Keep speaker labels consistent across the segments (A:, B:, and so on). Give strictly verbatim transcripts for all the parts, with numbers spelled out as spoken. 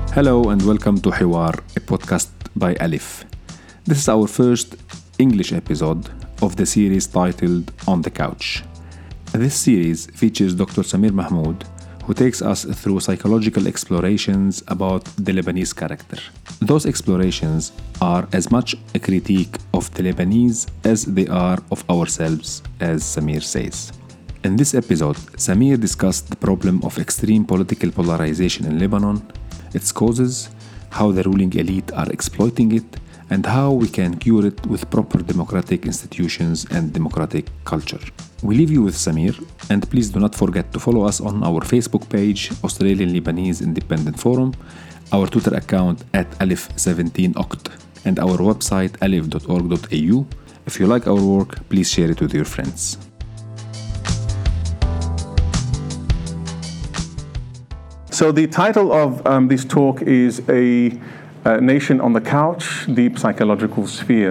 A: Hello and welcome to Hiwar, a podcast by Alif. This is our first English episode of the series titled On the Couch. This series features Doctor Samir Mahmoud, who takes us through psychological explorations about the Lebanese character. Those explorations are as much a critique of the Lebanese as they are of ourselves, as Samir says. In this episode, Samir discussed the problem of extreme political polarization in Lebanon, its causes, how the ruling elite are exploiting it, and how we can cure it with proper democratic institutions and democratic culture. We leave you with Samir, and please do not forget to follow us on our Facebook page, Australian Lebanese Independent Forum, our Twitter account at Alif seventeen Oct, and our website alif dot org dot a u. If you like our work, please share it with your friends.
B: So the title of um, this talk is A uh, Nation on the Couch, Deep Psychological Sphere.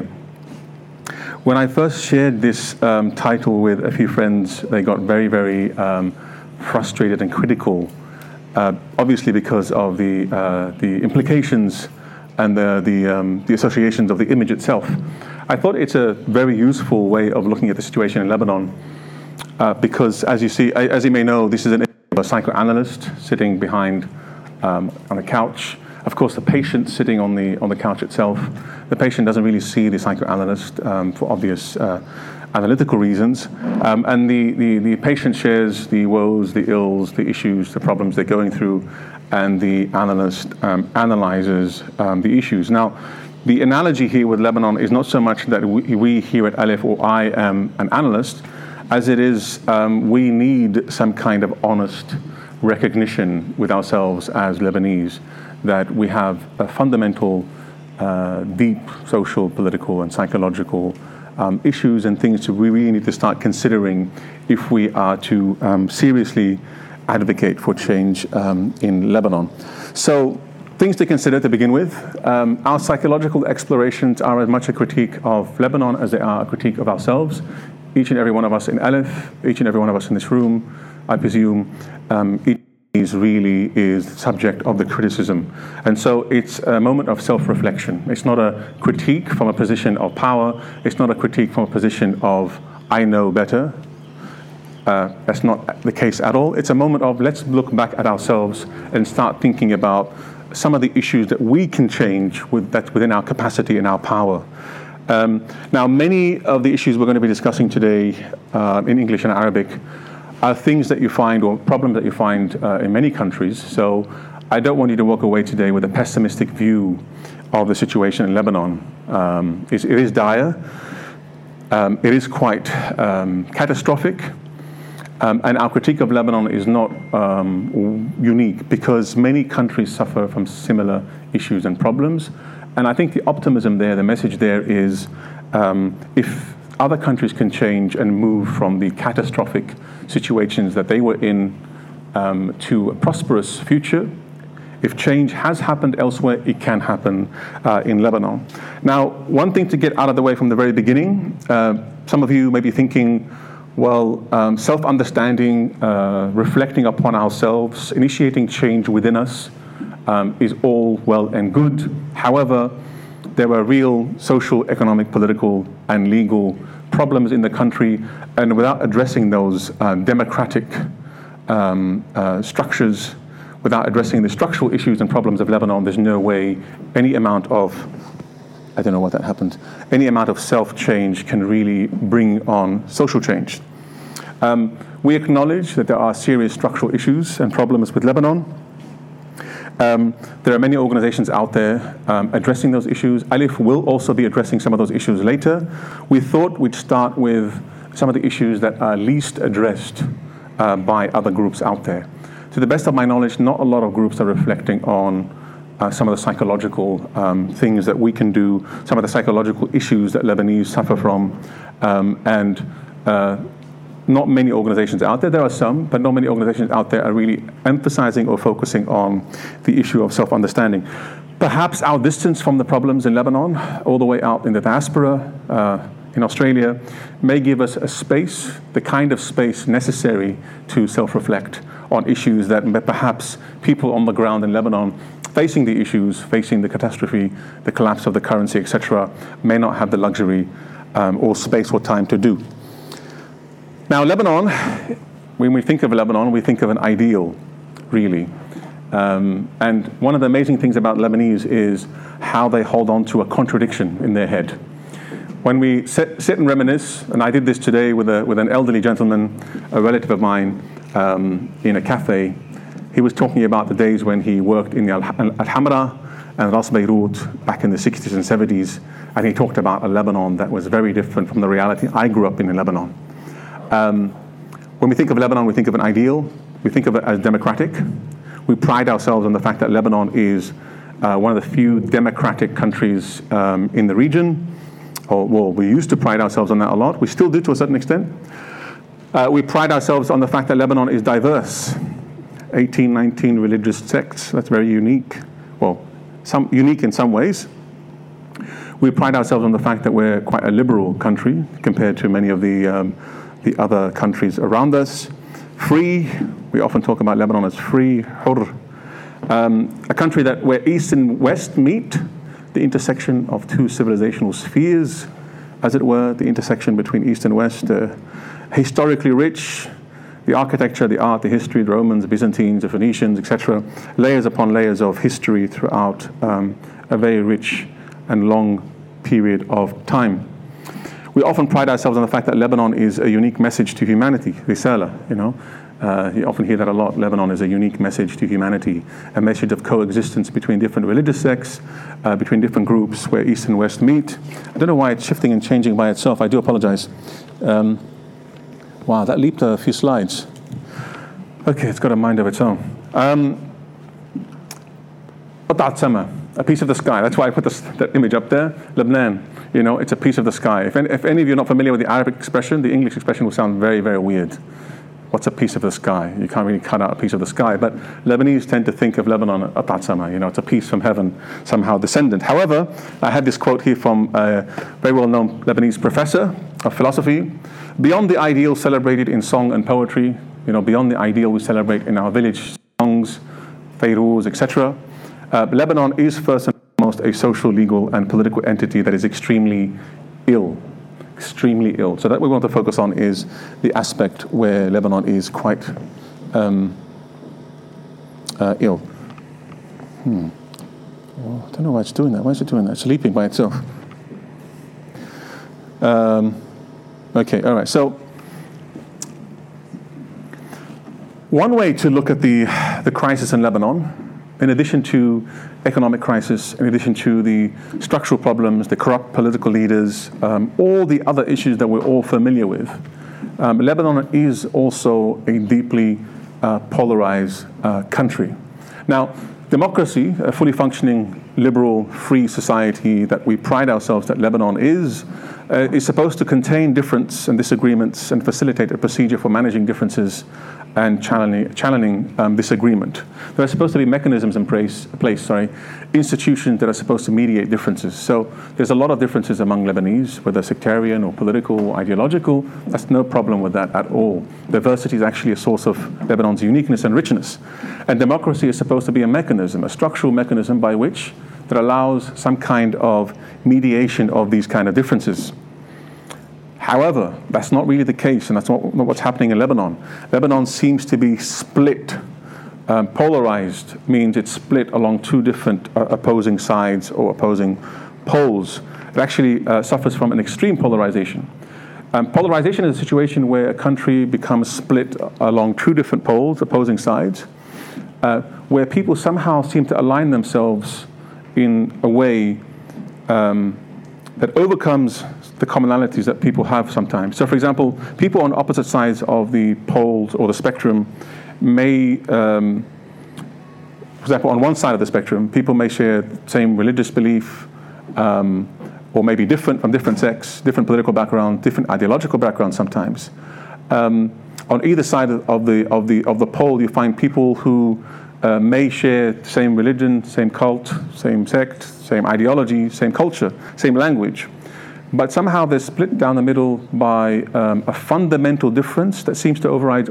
B: When I first shared this um, title with a few friends, they got very, very um, frustrated and critical, uh, obviously because of the uh, the implications and the the, um, the associations of the image itself. I thought it's a very useful way of looking at the situation in Lebanon, uh, because as you see, as you may know, this is an a psychoanalyst sitting behind um, on a couch. Of course, the patient sitting on the on the couch itself. The patient doesn't really see the psychoanalyst um, for obvious uh, analytical reasons. Um, and the, the, the patient shares the woes, the ills, the issues, the problems they're going through, and the analyst um, analyzes um, the issues. Now, the analogy here with Lebanon is not so much that we, we here at Alif or I am an analyst, as it is, um, we need some kind of honest recognition with ourselves as Lebanese that we have a fundamental, uh, deep social, political, and psychological um, issues and things to we really need to start considering if we are to um, seriously advocate for change um, in Lebanon. So, things to consider to begin with. Um, our psychological explorations are as much a critique of Lebanon as they are a critique of ourselves. Each and every one of us in Alif, each and every one of us in this room, I presume, um, each is really is subject of the criticism. And so it's a moment of self-reflection. It's not a critique from a position of power. It's not a critique from a position of, I know better. Uh, that's not the case at all. It's a moment of, let's look back at ourselves and start thinking about some of the issues that we can change with that's within our capacity and our power. Um, now, many of the issues we're going to be discussing today uh, in English and Arabic are things that you find or problems that you find uh, in many countries. So I don't want you to walk away today with a pessimistic view of the situation in Lebanon. Um, it is dire. Um, it is quite um, catastrophic. Um, and our critique of Lebanon is not um, unique because many countries suffer from similar issues and problems. And I think the optimism there, the message there is um, if other countries can change and move from the catastrophic situations that they were in um, to a prosperous future, if change has happened elsewhere, it can happen uh, in Lebanon. Now, one thing to get out of the way from the very beginning, uh, some of you may be thinking, well, um, self-understanding, uh, reflecting upon ourselves, initiating change within us, Um, is all well and good. However, there are real social, economic, political, and legal problems in the country, and without addressing those uh, democratic um, uh, structures, without addressing the structural issues and problems of Lebanon, there's no way any amount of, I don't know what that happened, any amount of self-change can really bring on social change. Um, we acknowledge that there are serious structural issues and problems with Lebanon. Um, there are many organizations out there um, addressing those issues. Alif will also be addressing some of those issues later. We thought we'd start with some of the issues that are least addressed uh, by other groups out there. To the best of my knowledge, not a lot of groups are reflecting on uh, some of the psychological um, things that we can do, some of the psychological issues that Lebanese suffer from, um, and uh, not many organizations out there. There are some, but not many organizations out there are really emphasizing or focusing on the issue of self-understanding. Perhaps our distance from the problems in Lebanon, all the way out in the diaspora, uh, in Australia, may give us a space, the kind of space necessary to self-reflect on issues that perhaps people on the ground in Lebanon facing the issues, facing the catastrophe, the collapse of the currency, et cetera, may not have the luxury um, or space or time to do. Now, Lebanon, when we think of Lebanon, we think of an ideal, really. Um, and one of the amazing things about Lebanese is how they hold on to a contradiction in their head. When we sit, sit and reminisce, and I did this today with, a, with an elderly gentleman, a relative of mine, um, in a cafe. He was talking about the days when he worked in the Al-Hamra and Ras Beirut back in the sixties and seventies, and he talked about a Lebanon that was very different from the reality I grew up in in Lebanon. Um, when we think of Lebanon, we think of an ideal. We think of it as democratic. We pride ourselves on the fact that Lebanon is uh, one of the few democratic countries um, in the region. Or, well, we used to pride ourselves on that a lot. We still do to a certain extent. Uh, we pride ourselves on the fact that Lebanon is diverse. eighteen, nineteen religious sects. That's very unique. Well, some unique in some ways. We pride ourselves on the fact that we're quite a liberal country compared to many of the um, the other countries around us. Free. We often talk about Lebanon as free, hur. Um, a country that where East and West meet, the intersection of two civilizational spheres, as it were, the intersection between East and West, uh, historically rich, the architecture, the art, the history, the Romans, the Byzantines, the Phoenicians, et cetera, layers upon layers of history throughout um, a very rich and long period of time. We often pride ourselves on the fact that Lebanon is a unique message to humanity, risala, you know. Uh, you often hear that a lot. Lebanon is a unique message to humanity, a message of coexistence between different religious sects, uh, between different groups where East and West meet. I don't know why it's shifting and changing by itself. I do apologize. Um, wow, that leaped a few slides. Okay, it's got a mind of its own. Um, a piece of the sky. That's why I put this, that image up there. Lebanon, you know, it's a piece of the sky. If any, if any of you are not familiar with the Arabic expression, the English expression will sound very, very weird. What's a piece of the sky? You can't really cut out a piece of the sky, but Lebanese tend to think of Lebanon, Atatsama, you know, it's a piece from heaven, somehow descendant. However, I had this quote here from a very well-known Lebanese professor of philosophy. Beyond the ideal celebrated in song and poetry, you know, beyond the ideal we celebrate in our village songs, Fairuz, et cetera, uh, Lebanon is first and foremost a social, legal, and political entity that is extremely ill. extremely ill. So that we want to focus on is the aspect where Lebanon is quite um, uh, ill. Hmm. Well, I don't know why it's doing that. Why is it doing that? It's sleeping by itself. Um, okay, all right. So one way to look at the the crisis in Lebanon, in addition to economic crisis, in addition to the structural problems, the corrupt political leaders, um, all the other issues that we're all familiar with, um, Lebanon is also a deeply uh, polarized uh, country. Now, democracy, a fully functioning, liberal, free society that we pride ourselves that Lebanon is, uh, is supposed to contain difference and disagreements and facilitate a procedure for managing differences and channeling, channeling um, disagreement. There are supposed to be mechanisms in place, place, sorry, institutions that are supposed to mediate differences. So there's a lot of differences among Lebanese, whether sectarian or political or ideological. That's no problem with that at all. Diversity is actually a source of Lebanon's uniqueness and richness. And democracy is supposed to be a mechanism, a structural mechanism by which that allows some kind of mediation of these kind of differences. However, that's not really the case, and that's not, not what's happening in Lebanon. Lebanon seems to be split. Um, polarized means it's split along two different uh, opposing sides or opposing poles. It actually uh, suffers from an extreme polarization. Um, polarization is a situation where a country becomes split along two different poles, opposing sides, uh, where people somehow seem to align themselves in a way um, that overcomes the commonalities that people have sometimes. So, for example, people on opposite sides of the poles or the spectrum may, um, for example, on one side of the spectrum, people may share the same religious belief, um, or maybe different from different sects, different political background, different ideological background sometimes. Um, on either side of the of the of the pole, you find people who uh, may share the same religion, same cult, same sect, same ideology, same culture, same language. But somehow they're split down the middle by um, a fundamental difference that seems to override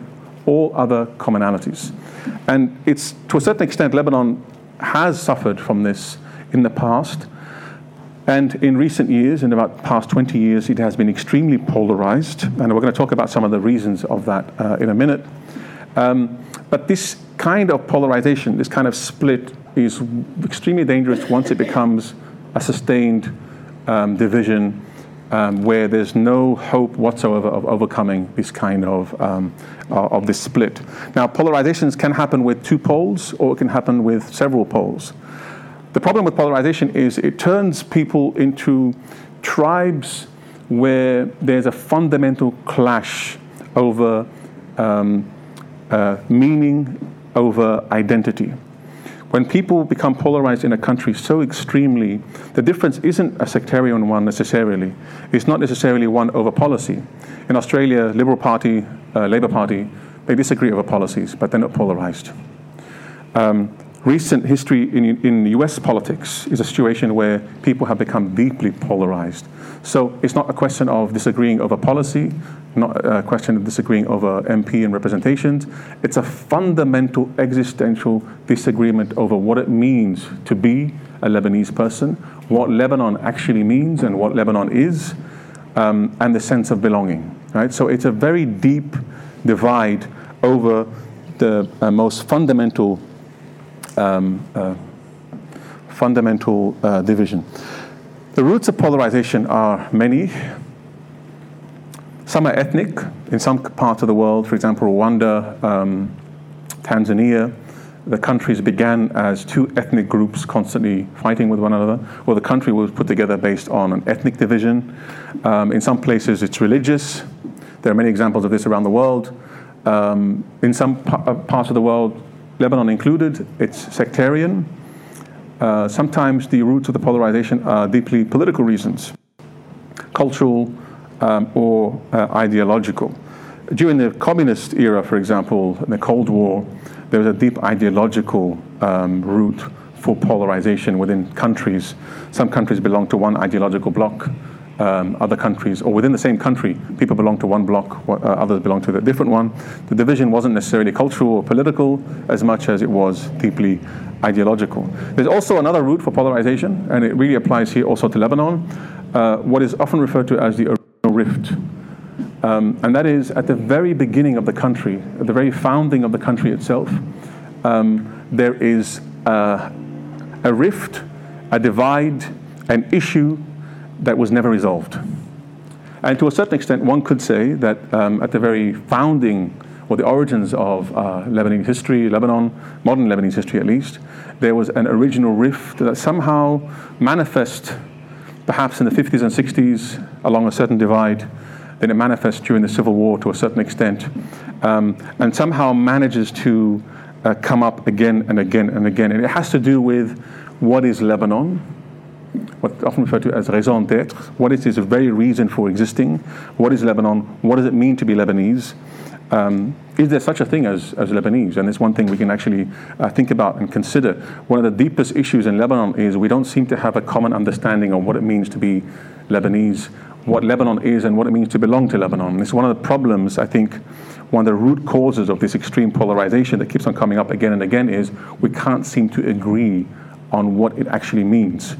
B: all other commonalities. And it's, to a certain extent, Lebanon has suffered from this in the past. And in recent years, in about the past twenty years, it has been extremely polarized. And we're going to talk about some of the reasons of that uh, in a minute. Um, but this kind of polarization, this kind of split, is extremely dangerous once it becomes a sustained um, division um, where there's no hope whatsoever of overcoming this kind of, um, of this split. Now, polarizations can happen with two poles, or it can happen with several poles. The problem with polarization is it turns people into tribes where there's a fundamental clash over um, uh, meaning, over identity. When people become polarized in a country so extremely, the difference isn't a sectarian one necessarily. It's not necessarily one over policy. In Australia, Liberal Party, uh, Labour Party, they disagree over policies, but they're not polarized. Um, recent history in, in U S politics is a situation where people have become deeply polarized. So it's not a question of disagreeing over policy, not a question of disagreeing over M P and representations. It's a fundamental existential disagreement over what it means to be a Lebanese person, what Lebanon actually means and what Lebanon is, um, and the sense of belonging. Right? So it's a very deep divide over the uh, most fundamental um, uh, fundamental uh, division. The roots of polarization are many. Some are ethnic. In some parts of the world, for example, Rwanda, um, Tanzania, the countries began as two ethnic groups constantly fighting with one another, or the country was put together based on an ethnic division. Um, in some places, it's religious. There are many examples of this around the world. Um, in some pa- parts of the world, Lebanon included, it's sectarian. Uh, sometimes the roots of the polarization are deeply political reasons, cultural um, or uh, ideological. During the communist era, for example, in the Cold War, there was a deep ideological um, root for polarization within countries. Some countries belong to one ideological bloc. Um, other countries, or within the same country, people belong to one bloc, uh, others belong to a different one. The division wasn't necessarily cultural or political as much as it was deeply ideological. There's also another root for polarization, and it really applies here also to Lebanon, uh, what is often referred to as the original rift. Um, and that is at the very beginning of the country, at the very founding of the country itself, um, there is uh, a rift, a divide, an issue that was never resolved. And to a certain extent, one could say that um, at the very founding, or the origins of uh, Lebanese history, Lebanon, modern Lebanese history at least, there was an original rift that somehow manifests, perhaps in the fifties and sixties, along a certain divide. Then it manifests during the Civil War to a certain extent, um, and somehow manages to uh, come up again and again and again. And it has to do with what is Lebanon, what's often referred to as raison d'être. What is its very reason for existing? What is Lebanon? What does it mean to be Lebanese? Um, is there such a thing as, as Lebanese? And it's one thing we can actually uh, think about and consider. One of the deepest issues in Lebanon is we don't seem to have a common understanding of what it means to be Lebanese, what Lebanon is and what it means to belong to Lebanon. And it's one of the problems, I think, one of the root causes of this extreme polarization that keeps on coming up again and again is we can't seem to agree on what it actually means.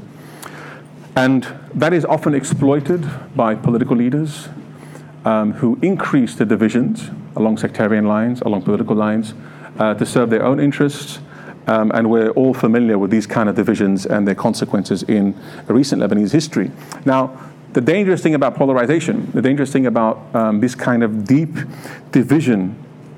B: And that is often exploited by political leaders um, who increase the divisions along sectarian lines, along political lines, uh, to serve their own interests. Um, and we're all familiar with these kind of divisions and their consequences in recent Lebanese history. Now, the dangerous thing about polarization, the dangerous thing about um, this kind of deep division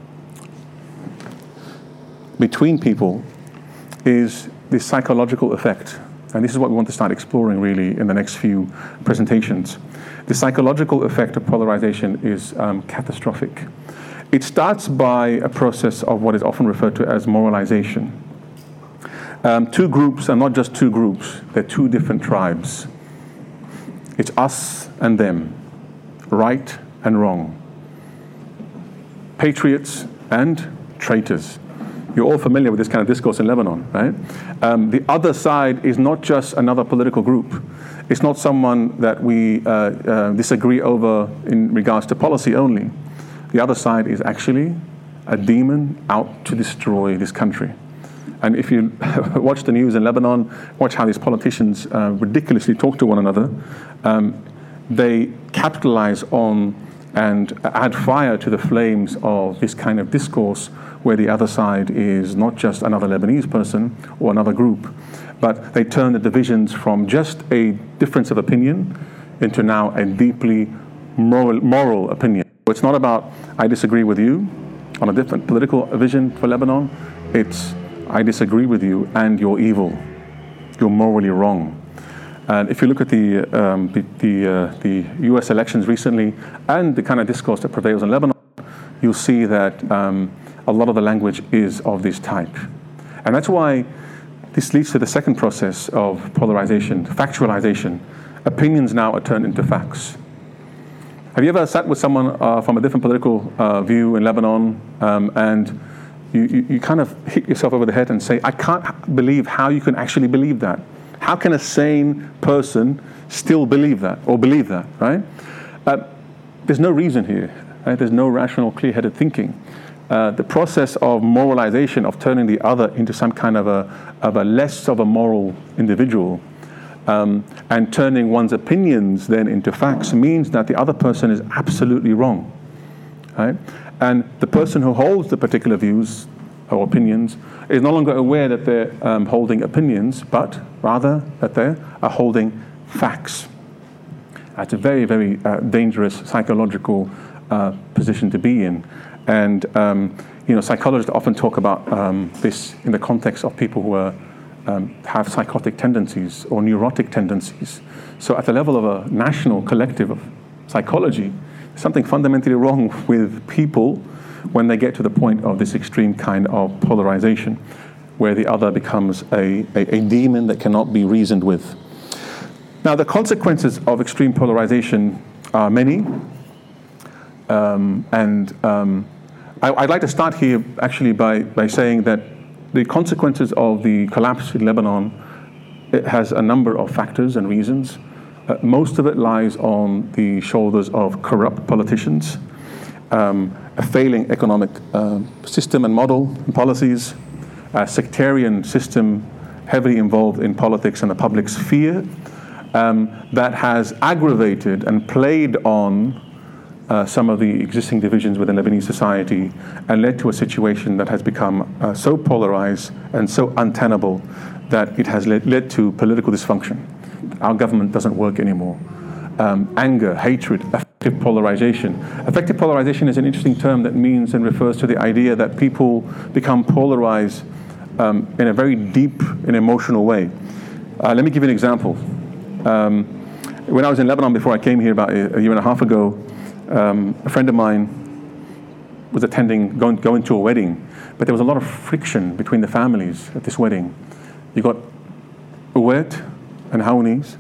B: between people is this psychological effect. And this is what we want to start exploring really in the next few presentations. The psychological effect of polarization is um, catastrophic. It starts by a process of what is often referred to as moralization. Um, two groups are not just two groups, they're two different tribes. It's us and them, right and wrong, patriots and traitors. You're all familiar with this kind of discourse in Lebanon, right? Um, the other side is not just another political group. It's not someone that we uh, uh, disagree over in regards to policy only. The other side is actually a demon out to destroy this country. And if you watch the news in Lebanon, watch how these politicians uh, ridiculously talk to one another, um, they capitalize on and add fire to the flames of this kind of discourse where the other side is not just another Lebanese person or another group, but they turn the divisions from just a difference of opinion into now a deeply moral, moral opinion. It's not about, I disagree with you on a different political vision for Lebanon. It's, I disagree with you and you're evil. You're morally wrong. And if you look at the um, the the, uh, the U S elections recently and the kind of discourse that prevails in Lebanon, you'll see that um, a lot of the language is of this type. And that's why this leads to the second process of polarization, factualization. Opinions now are turned into facts. Have you ever sat with someone uh, from a different political uh, view in Lebanon um, and you, you, you kind of hit yourself over the head and say, I can't believe how you can actually believe that. How can a sane person still believe that or believe that, right? Uh, there's no reason here. Right? There's no rational, clear-headed thinking. Uh, the process of moralization, of turning the other into some kind of a, of a less of a moral individual, um, and turning one's opinions then into facts means that the other person is absolutely wrong, right? And the person who holds the particular views or opinions is no longer aware that they're um, holding opinions, but rather that they are holding facts. That's a very, very uh, dangerous psychological uh, position to be in. And um, you know, psychologists often talk about um, this in the context of people who are, um, have psychotic tendencies or neurotic tendencies. So at the level of a national collective of psychology, there's something fundamentally wrong with people when they get to the point of this extreme kind of polarization, where the other becomes a, a, a demon that cannot be reasoned with. Now, the consequences of extreme polarization are many, um, and um, I, I'd like to start here actually by, by saying that the consequences of the collapse in Lebanon, it has a number of factors and reasons. Uh, most of it lies on the shoulders of corrupt politicians, um, a failing economic uh, system and model and policies, a sectarian system heavily involved in politics and the public sphere, um, that has aggravated and played on uh, some of the existing divisions within Lebanese society and led to a situation that has become uh, so polarized and so untenable that it has led, led to political dysfunction. Our government doesn't work anymore. Um, anger, hatred, affective polarization. Affective polarization is an interesting term that means and refers to the idea that people become polarized um, in a very deep and emotional way. Uh, let me give you an example. Um, when I was in Lebanon before I came here about a, a year and a half ago, um, a friend of mine was attending, going, going to a wedding, but there was a lot of friction between the families at this wedding. You got Uwait and Haounis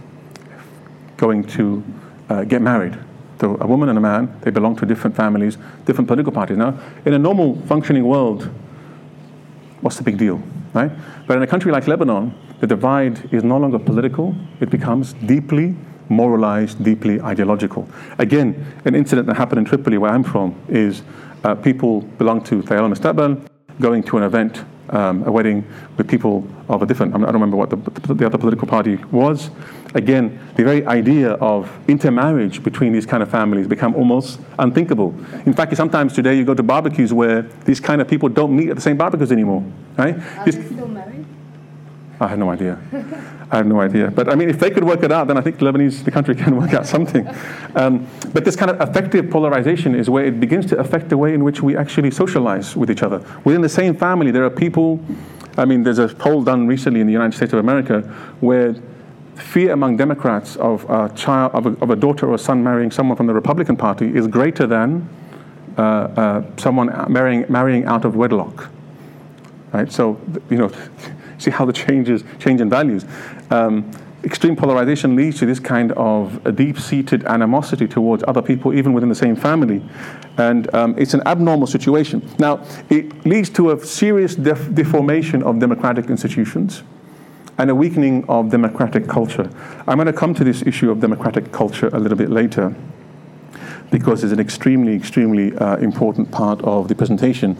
B: going to uh, get married. So a woman and a man, they belong to different families, different political parties. Now, in a normal functioning world, what's the big deal, right? But in a country like Lebanon, the divide is no longer political, it becomes deeply moralized, deeply ideological. Again, an incident that happened in Tripoli, where I'm from, is uh, people belong to Tayal al-Mustaqbal, going to an event, um, a wedding with people of a different, I don't remember what the, the other political party was. Again, the very idea of intermarriage between these kind of families become almost unthinkable. In fact, sometimes today you go to barbecues where these kind of people don't meet at the same barbecues anymore, right?
C: Are
B: This,
C: they still married?
B: I have no idea. I have no idea. But I mean, if they could work it out, then I think Lebanese, the country, can work out something. Um, but this kind of affective polarization is where it begins to affect the way in which we actually socialize with each other. Within the same family, there are people, I mean, there's a poll done recently in the United States of America where fear among Democrats of a child, of a, of a daughter or a son marrying someone from the Republican Party is greater than uh, uh, someone marrying, marrying out of wedlock. Right? So, you know, see how the changes, change in values. Um, extreme polarization leads to this kind of a deep-seated animosity towards other people, even within the same family. And um, it's an abnormal situation. Now, it leads to a serious def- deformation of democratic institutions and a weakening of democratic culture. I'm going to come to this issue of democratic culture a little bit later. because it's an extremely, extremely uh, important part of the presentation.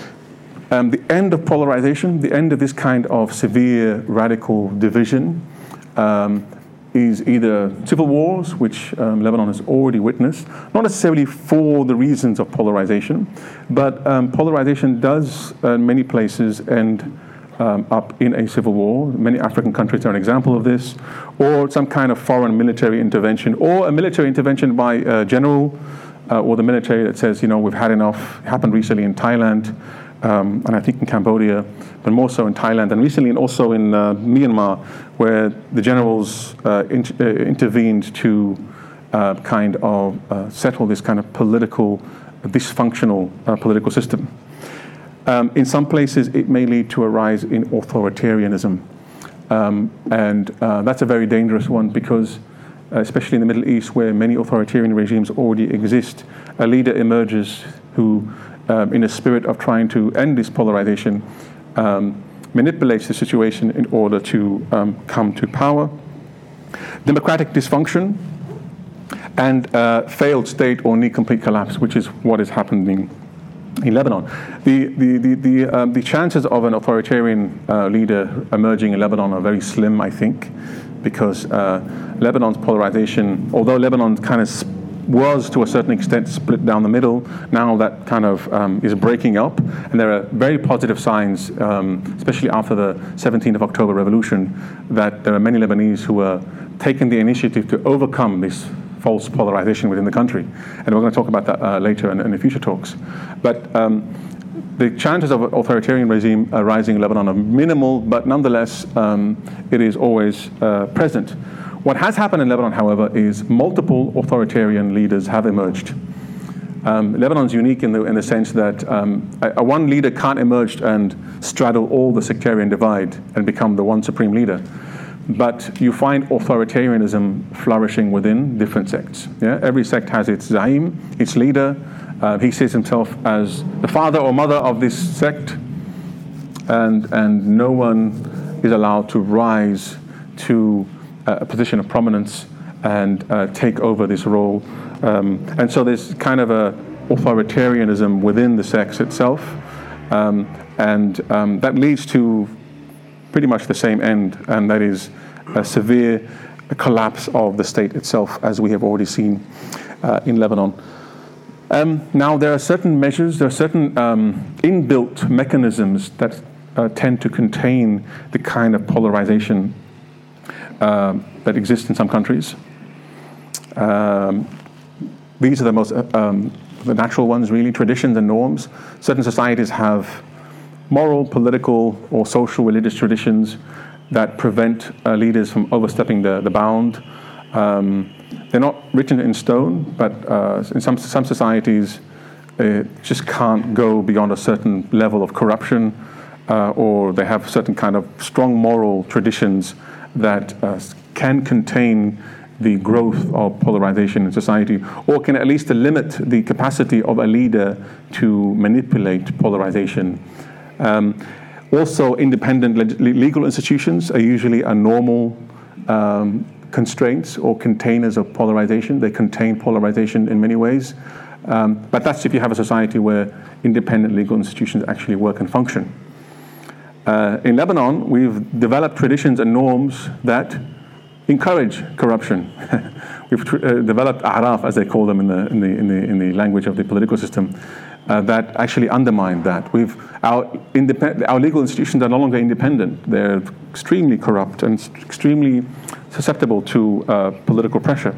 B: Um, the end of polarization, the end of this kind of severe radical division, um, is either civil wars, which um, Lebanon has already witnessed, not necessarily for the reasons of polarization, but um, polarization does uh, in many places end um, up in a civil war. Many African countries are an example of this, or some kind of foreign military intervention, or a military intervention by a general uh, or the military that says, you know, we've had enough. It happened recently in Thailand, Um, and I think in Cambodia, but more so in Thailand, and recently and also in uh, Myanmar, where the generals uh, in, uh, intervened to uh, kind of uh, settle this kind of political, uh, dysfunctional uh, political system. Um, in some places, it may lead to a rise in authoritarianism, um, and uh, that's a very dangerous one because, uh, especially in the Middle East, where many authoritarian regimes already exist, a leader emerges who, Um, in a spirit of trying to end this polarization, um, manipulates the situation in order to um, come to power. Democratic dysfunction and uh, failed state or near complete collapse, which is what is happening in Lebanon. The, the, the, the, um, the chances of an authoritarian uh, leader emerging in Lebanon are very slim, I think, because uh, Lebanon's polarization, although Lebanon kind of sp- was to a certain extent split down the middle, now that kind of um, is breaking up, and there are very positive signs, um, especially after the seventeenth of October revolution, that there are many Lebanese who are taking the initiative to overcome this false polarization within the country, and we're going to talk about that uh, later in, in the future talks. But um, the chances of an authoritarian regime uh, rising in Lebanon are minimal, but nonetheless um, it is always uh, present. What has happened in Lebanon, however, is multiple authoritarian leaders have emerged. Um, Lebanon's unique in the, in the sense that um, a, a one leader can't emerge and straddle all the sectarian divide and become the one supreme leader. But you find authoritarianism flourishing within different sects. Yeah? Every sect has its zaim, its leader. Uh, he sees himself as the father or mother of this sect, and, and no one is allowed to rise to a position of prominence and uh, take over this role. Um, and so there's kind of a authoritarianism within the sects itself. Um, and um, that leads to pretty much the same end, and that is a severe collapse of the state itself, as we have already seen uh, in Lebanon. Um, now, there are certain measures, there are certain um, inbuilt mechanisms that uh, tend to contain the kind of polarization Uh, that exist in some countries. Um, these are the most, uh, um, the natural ones really, traditions and norms. Certain societies have moral, political, or social religious traditions that prevent uh, leaders from overstepping the, the bound. Um, they're not written in stone, but uh, in some, some societies it just can't go beyond a certain level of corruption, uh, or they have certain kind of strong moral traditions that uh, can contain the growth of polarization in society, or can at least limit the capacity of a leader to manipulate polarization. Um, also, independent leg- legal institutions are usually a normal um, constraints or containers of polarization. They contain polarization in many ways, um, but that's if you have a society where independent legal institutions actually work and function. Uh, in Lebanon, we've developed traditions and norms that encourage corruption. We've tr- uh, developed a'raf, as they call them in the in the in the in the language of the political system, uh, that actually undermine that. We've our independent our legal institutions are no longer independent. They're extremely corrupt and extremely susceptible to uh, political pressure.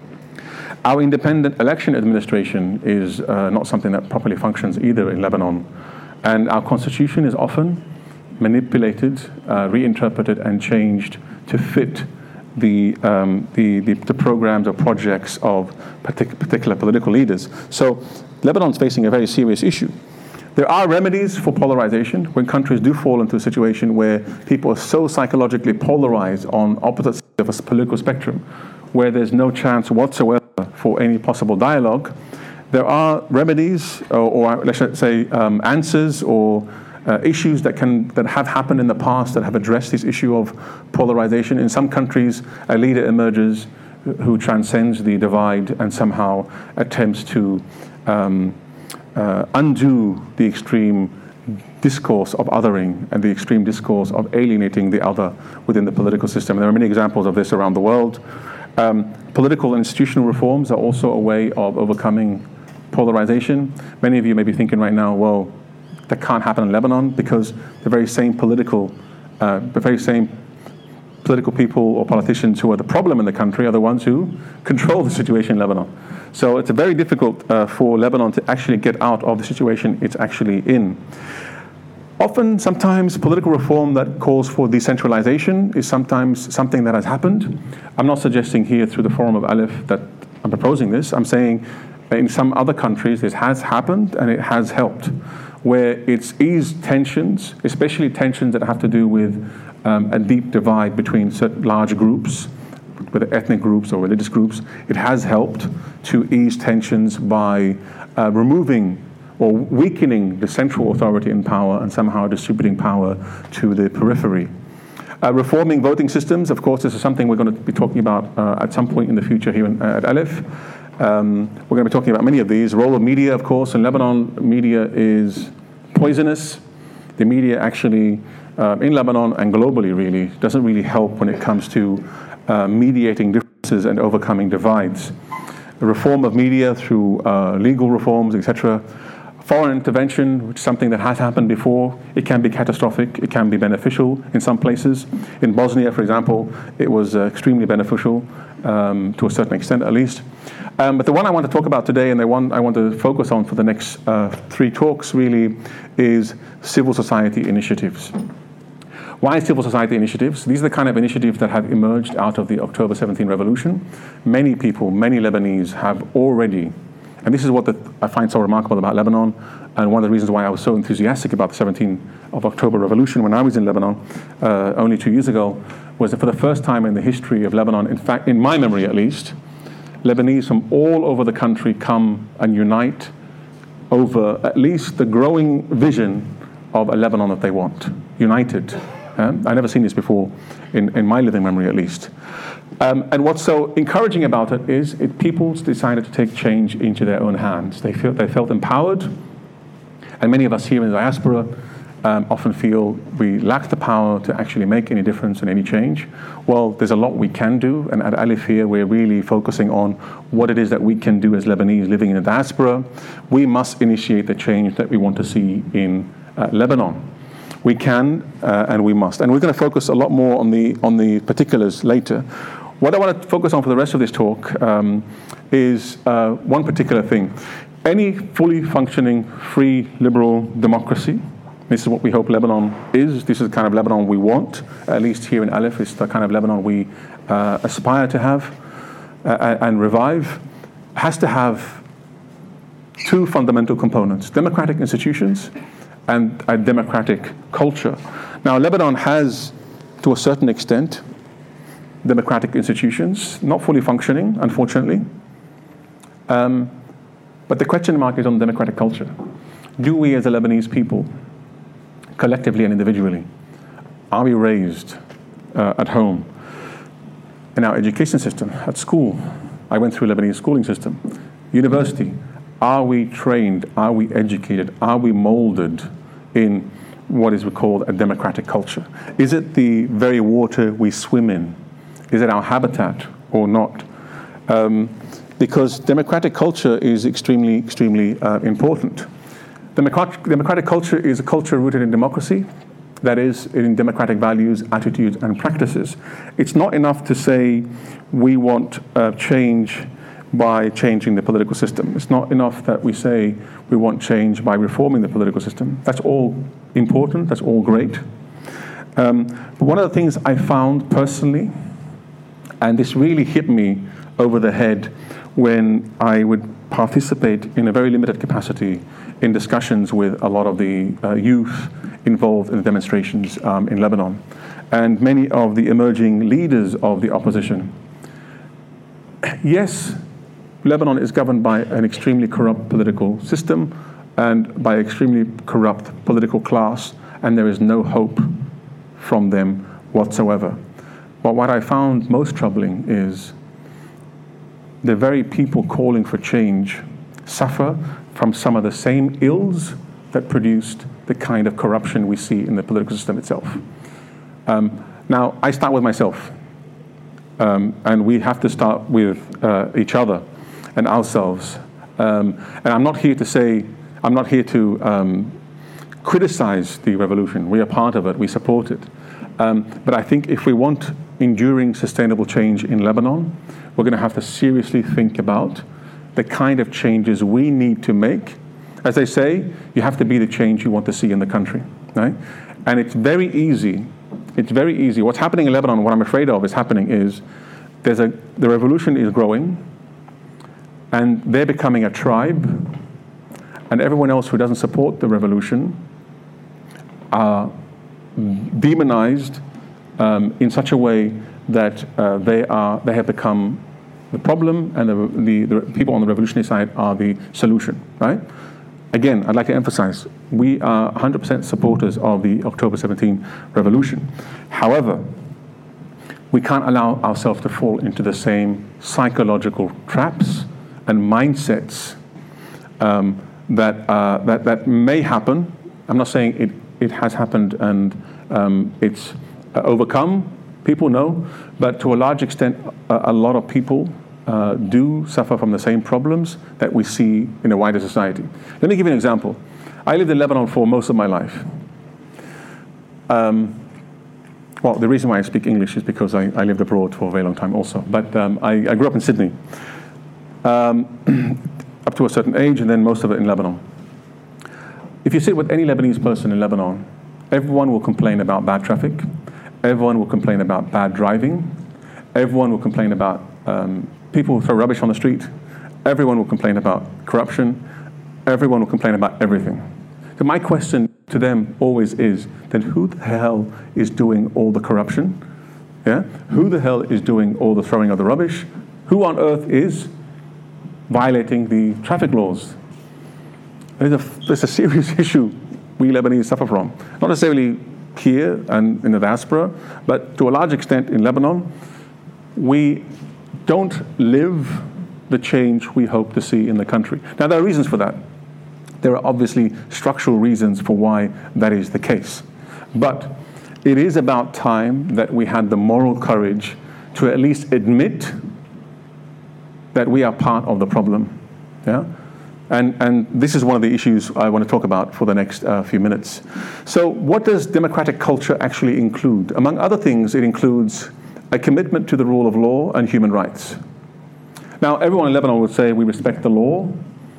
B: Our independent election administration is uh, not something that properly functions either in Lebanon, and our constitution is often manipulated, uh, reinterpreted, and changed to fit the, um, the, the, the programs or projects of partic- particular political leaders. So Lebanon's facing a very serious issue. There are remedies for polarization when countries do fall into a situation where people are so psychologically polarized on opposite sides of a political spectrum, where there's no chance whatsoever for any possible dialogue. There are remedies, or, or let's say um, answers, or Uh, issues that can that have happened in the past that have addressed this issue of polarization. In some countries, a leader emerges who transcends the divide and somehow attempts to um, uh, undo the extreme discourse of othering and the extreme discourse of alienating the other within the political system. And there are many examples of this around the world. Um, political and institutional reforms are also a way of overcoming polarization. Many of you may be thinking right now, well, that can't happen in Lebanon because the very same political, uh, the very same political people or politicians who are the problem in the country are the ones who control the situation in Lebanon. So it's very difficult uh, for Lebanon to actually get out of the situation it's actually in. Often, sometimes, political reform that calls for decentralization is sometimes something that has happened. I'm not suggesting here through the Forum of Aleph that I'm proposing this. I'm saying in some other countries this has happened and it has helped, where it's eased tensions, especially tensions that have to do with um, a deep divide between certain large groups, whether ethnic groups or religious groups. It has helped to ease tensions by uh, removing or weakening the central authority in power and somehow distributing power to the periphery. Uh, reforming voting systems, of course, this is something we're going to be talking about uh, at some point in the future here in, uh, at Aleph. Um, we're going to be talking about many of these. Role of media, of course. In Lebanon, media is poisonous. The media actually, uh, in Lebanon and globally really, doesn't really help when it comes to uh, mediating differences and overcoming divides. The reform of media through uh, legal reforms, et cetera. Foreign intervention, which is something that has happened before. It can be catastrophic, it can be beneficial in some places. In Bosnia, for example, it was uh, extremely beneficial, um, to a certain extent at least. Um, but the one I want to talk about today, and the one I want to focus on for the next uh, three talks really, is civil society initiatives. Why civil society initiatives? These are the kind of initiatives that have emerged out of the October seventeenth revolution. Many people, many Lebanese have already, and this is what the, I find so remarkable about Lebanon, and one of the reasons why I was so enthusiastic about the seventeenth of October revolution when I was in Lebanon uh, only two years ago, was that for the first time in the history of Lebanon, in fact, in my memory at least, Lebanese from all over the country come and unite over at least the growing vision of a Lebanon that they want, united. Um, I've never seen this before, in, in my living memory at least. Um, and what's so encouraging about it is it, people decided to take change into their own hands. They felt, they felt empowered, and many of us here in the diaspora um, often feel we lack the power to actually make any difference and any change. Well, there's a lot we can do, and at Aleph here we're really focusing on what it is that we can do as Lebanese living in the diaspora. We must initiate the change that we want to see in uh, Lebanon. We can uh, and we must. And we're going to focus a lot more on the on the particulars later. What I want to focus on for the rest of this talk um, is uh, one particular thing. Any fully functioning, free, liberal democracy, this is what we hope Lebanon is. This is the kind of Lebanon we want, at least here in Aleph. It's the kind of Lebanon we uh, aspire to have uh, and revive. Has to have two fundamental components: democratic institutions and a democratic culture. Now, Lebanon has, to a certain extent, democratic institutions, not fully functioning, unfortunately. Um, but the question mark is on democratic culture. Do we as a Lebanese people, collectively and individually, are we raised uh, at home, in our education system, at school? I went through a Lebanese schooling system. University. Are we trained? Are we educated? Are we molded in what is called a democratic culture? Is it the very water we swim in? Is it our habitat or not? Um, because democratic culture is extremely, extremely uh, important. Democratic, democratic culture is a culture rooted in democracy, that is, in democratic values, attitudes, and practices. It's not enough to say we want uh, change by changing the political system. It's not enough that we say we want change by reforming the political system. That's all important, that's all great. Um, but one of the things I found personally, and this really hit me over the head when I would participate in a very limited capacity in discussions with a lot of the uh, youth involved in the demonstrations um, in Lebanon, and many of the emerging leaders of the opposition. Yes, Lebanon is governed by an extremely corrupt political system and by extremely corrupt political class, and there is no hope from them whatsoever. But what I found most troubling is the very people calling for change suffer from some of the same ills that produced the kind of corruption we see in the political system itself. Um, now, I start with myself, um, and we have to start with uh, each other and ourselves. Um, and I'm not here to say, I'm not here to um, criticize the revolution. We are part of it, we support it. Um, but I think if we want enduring, sustainable change in Lebanon, we're going to have to seriously think about the kind of changes we need to make. As they say, you have to be the change you want to see in the country, right? And it's very easy, it's very easy. What's happening in Lebanon, what I'm afraid of is happening is, there's a, the revolution is growing, and they're becoming a tribe, and everyone else who doesn't support the revolution are demonized um, in such a way that uh, they are they have become the problem, and the, the, the people on the revolutionary side are the solution, right? Again, I'd like to emphasize, we are one hundred percent supporters of the October seventeenth revolution. However, we can't allow ourselves to fall into the same psychological traps and mindsets um, that, uh, that, that may happen. I'm not saying it, it has happened and um, it's uh, overcome, people know, but to a large extent, a, a lot of people uh, do suffer from the same problems that we see in a wider society. Let me give you an example. I lived in Lebanon for most of my life. Um, well, the reason why I speak English is because I, I lived abroad for a very long time also, but um, I, I grew up in Sydney. Um, up to a certain age, and then most of it in Lebanon. If you sit with any Lebanese person in Lebanon, everyone will complain about bad traffic, everyone will complain about bad driving, everyone will complain about um, people who throw rubbish on the street, everyone will complain about corruption, everyone will complain about everything. So my question to them always is, then who the hell is doing all the corruption? Yeah? Who the hell is doing all the throwing of the rubbish? Who on earth is violating the traffic laws? There's a, there's a serious issue we Lebanese suffer from. Not necessarily here and in the diaspora, but to a large extent in Lebanon, we don't live the change we hope to see in the country. Now, there are reasons for that. There are obviously structural reasons for why that is the case. But it is about time that we had the moral courage to at least admit that we are part of the problem, yeah? And, and this is one of the issues I want to talk about for the next uh, few minutes. So what does democratic culture actually include? Among other things, it includes a commitment to the rule of law and human rights. Now, everyone in Lebanon would say we respect the law.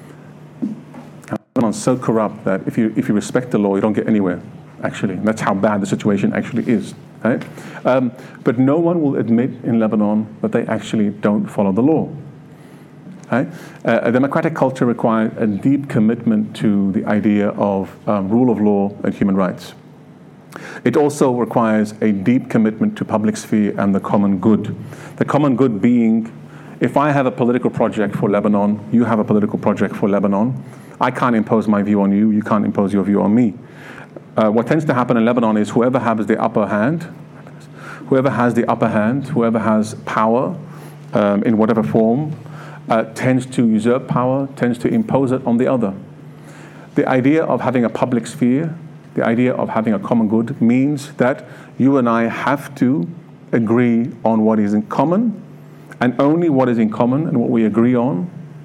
B: Lebanon's so corrupt that if you, if you respect the law, you don't get anywhere, actually. And that's how bad the situation actually is, right? Um, but no one will admit in Lebanon that they actually don't follow the law. Right? Uh, a democratic culture requires a deep commitment to the idea of um, rule of law and human rights. It also requires a deep commitment to public sphere and the common good. The common good being, if I have a political project for Lebanon, you have a political project for Lebanon, I can't impose my view on you, you can't impose your view on me. Uh, what tends to happen in Lebanon is whoever has the upper hand, whoever has the upper hand, whoever has power um, in whatever form, Uh, tends to usurp power, tends to impose it on the other. The idea of having a public sphere, the idea of having a common good means that you and I have to agree on what is in common, and only what is in common and what we agree on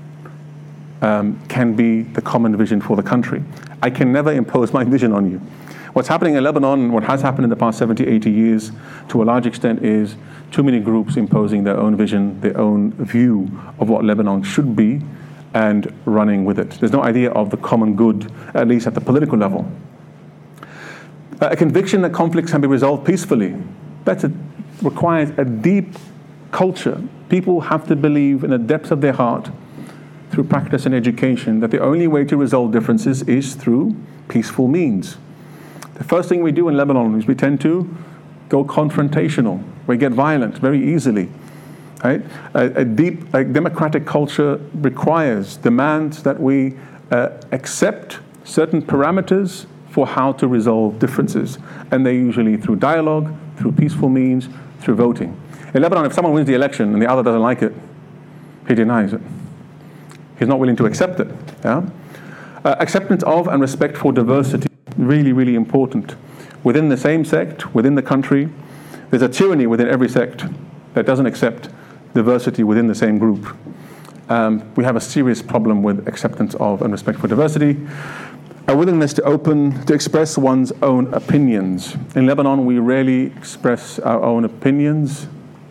B: um, can be the common vision for the country. I can never impose my vision on you. What's happening in Lebanon, and what has happened in the past seventy, eighty years, to a large extent, is too many groups imposing their own vision, their own view of what Lebanon should be, and running with it. There's no idea of the common good, at least at the political level. A conviction that conflicts can be resolved peacefully, that requires a deep culture. People have to believe in the depths of their heart, through practice and education, that the only way to resolve differences is through peaceful means. The first thing we do in Lebanon is we tend to go confrontational. We get violent very easily. Right? A, a deep a democratic culture requires, demands that we uh, accept certain parameters for how to resolve differences. And they're usually through dialogue, through peaceful means, through voting. In Lebanon, if someone wins the election and the other doesn't like it, He denies it. He's not willing to accept it. Yeah? Uh, acceptance of and respect for diversity, really, really important. Within the same sect, within the country, there's a tyranny within every sect that doesn't accept diversity within the same group. Um, we have a serious problem with acceptance of and respect for diversity. A willingness to open, to express one's own opinions. In Lebanon, we rarely express our own opinions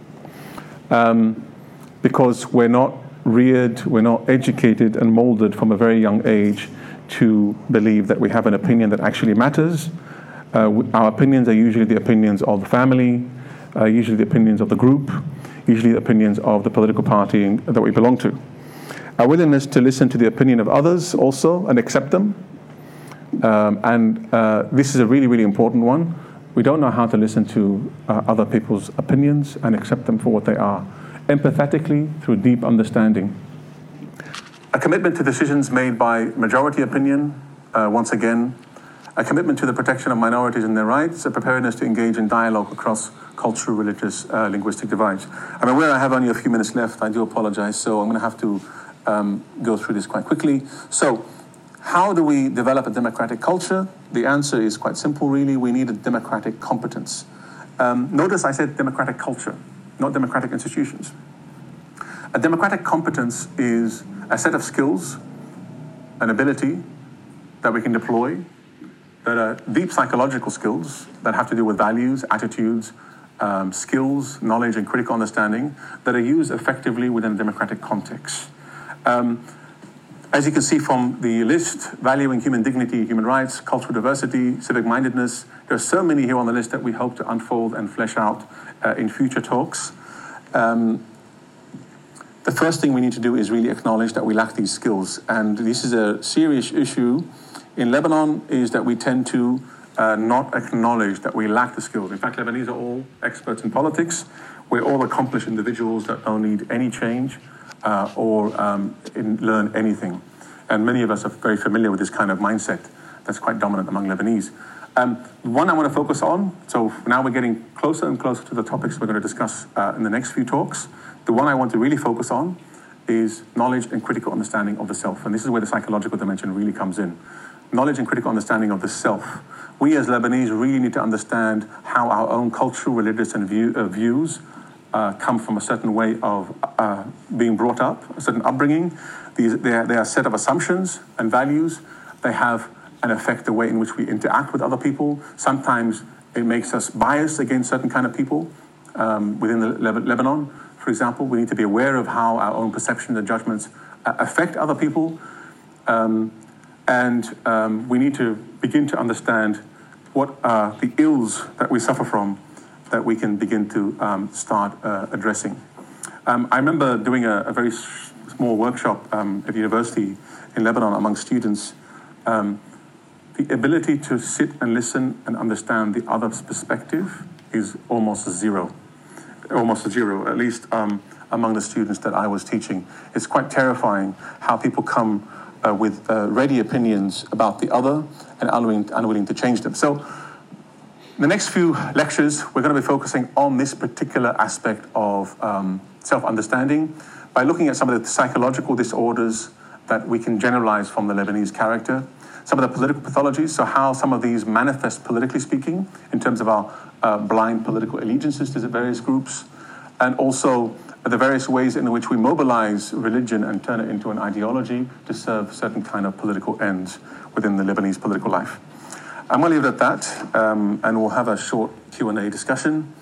B: um, because we're not reared, we're not educated and molded from a very young age to believe that we have an opinion that actually matters. Uh, our opinions are usually the opinions of the family, uh, usually the opinions of the group, usually the opinions of the political party that we belong to. Our willingness to listen to the opinion of others also and accept them. Um, and uh, this is a really, really important one. We don't know how to listen to uh, other people's opinions and accept them for what they are, empathetically through deep understanding. A commitment to decisions made by majority opinion, uh, once again, a commitment to the protection of minorities and their rights, a preparedness to engage in dialogue across cultural, religious, uh, linguistic divides. I'm aware I have only a few minutes left. I do apologize, so I'm going to have to um, go through this quite quickly. So, how do we develop a democratic culture? The answer is quite simple, really. We need a democratic competence. Um, notice I said democratic culture, not democratic institutions. A democratic competence is a set of skills, an ability that we can deploy, that are deep psychological skills that have to do with values, attitudes, um, skills, knowledge, and critical understanding that are used effectively within a democratic context. Um, As you can see from the list, valuing human dignity, human rights, cultural diversity, civic-mindedness, there are so many here on the list that we hope to unfold and flesh out uh, in future talks. Um, the first thing we need to do is really acknowledge that we lack these skills. And this is a serious issue in Lebanon, is that we tend to uh, not acknowledge that we lack the skills. In fact, Lebanese are all experts in politics. We're all accomplished individuals that don't need any change. Uh, or um, in learn anything. And many of us are very familiar with this kind of mindset that's quite dominant among Lebanese. Um, one I want to focus on, so now we're getting closer and closer to the topics we're going to discuss uh, in the next few talks. The one I want to really focus on is knowledge and critical understanding of the self. And this is where the psychological dimension really comes in. Knowledge and critical understanding of the self. We as Lebanese really need to understand how our own cultural, religious, and view, uh, views Uh, come from a certain way of uh, being brought up, a certain upbringing. These, they, are, they are a set of assumptions and values. They have an effect the way in which we interact with other people. Sometimes it makes us biased against certain kind of people um, within the Le- Lebanon. For example, we need to be aware of how our own perceptions and judgments uh, affect other people. Um, and um, we need to begin to understand what are the ills that we suffer from that we can begin to um, start uh, addressing. Um, I remember doing a, a very s- small workshop um, at university in Lebanon among students. Um, the ability to sit and listen and understand the other's perspective is almost zero. Almost zero, at least um, among the students that I was teaching. It's quite terrifying how people come uh, with uh, ready opinions about the other and unwilling, unwilling to change them. So, in the next few lectures, we're going to be focusing on this particular aspect of um, self-understanding by looking at some of the psychological disorders that we can generalize from the Lebanese character, some of the political pathologies, so how some of these manifest politically speaking in terms of our uh, blind political allegiances to the various groups, and also the various ways in which we mobilize religion and turn it into an ideology to serve certain kind of political ends within the Lebanese political life. I'm going to leave it at that, um, and we'll have a short Q and A discussion.